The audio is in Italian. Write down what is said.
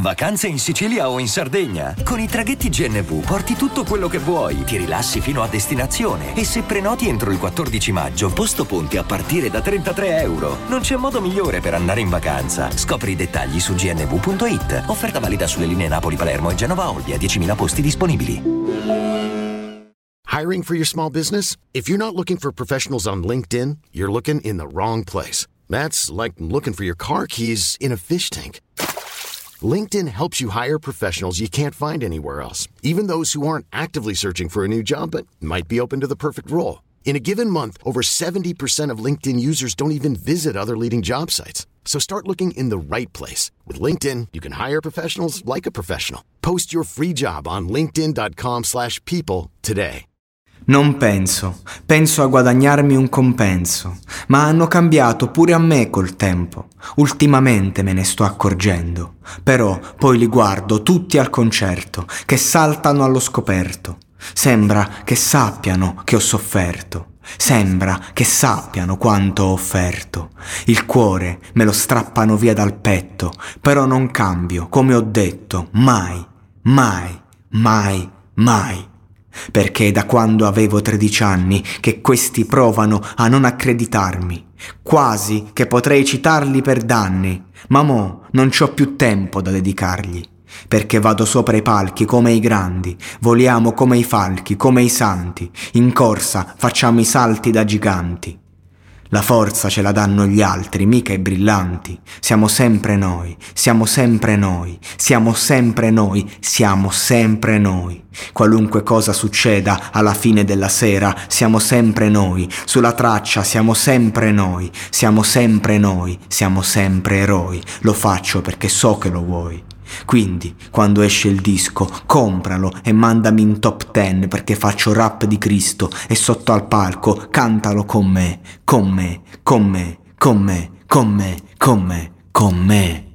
Vacanze in Sicilia o in Sardegna? Con i traghetti GNV porti tutto quello che vuoi, ti rilassi fino a destinazione e se prenoti entro il 14 maggio, posto ponti a partire da €33. Non c'è modo migliore per andare in vacanza. Scopri i dettagli su gnv.it. Offerta valida sulle linee Napoli-Palermo e Genova-Olbia, 10.000 posti disponibili. Hiring for your small business? If you're not looking for professionals on LinkedIn, you're looking in the wrong place. That's like looking for your car keys in a fish tank. LinkedIn helps you hire professionals you can't find anywhere else, even those who aren't actively searching for a new job but might be open to the perfect role. In a given month, over 70% of LinkedIn users don't even visit other leading job sites. So start looking in the right place. With LinkedIn, you can hire professionals like a professional. Post your free job on linkedin.com/people today. Non penso a guadagnarmi un compenso, ma hanno cambiato pure a me col tempo. Ultimamente me ne sto accorgendo, però poi li guardo tutti al concerto, che saltano allo scoperto. Sembra che sappiano che ho sofferto, sembra che sappiano quanto ho offerto. Il cuore me lo strappano via dal petto, però non cambio, come ho detto, mai, mai, mai, mai. Perché da quando avevo 13 anni che questi provano a non accreditarmi, quasi che potrei citarli per danni, ma mo non c'ho più tempo da dedicargli, perché vado sopra i palchi come i grandi, voliamo come i falchi, come i santi, in corsa facciamo i salti da giganti. La forza ce la danno gli altri, mica i brillanti. Siamo sempre noi, siamo sempre noi, siamo sempre noi, siamo sempre noi. Qualunque cosa succeda alla fine della sera, siamo sempre noi. Sulla traccia siamo sempre noi, siamo sempre noi, siamo sempre eroi. Lo faccio perché so che lo vuoi. Quindi, quando esce il disco, compralo e mandami in top 10 perché faccio rap di Cristo e sotto al palco cantalo con me, con me, con me, con me, con me, con me, con me.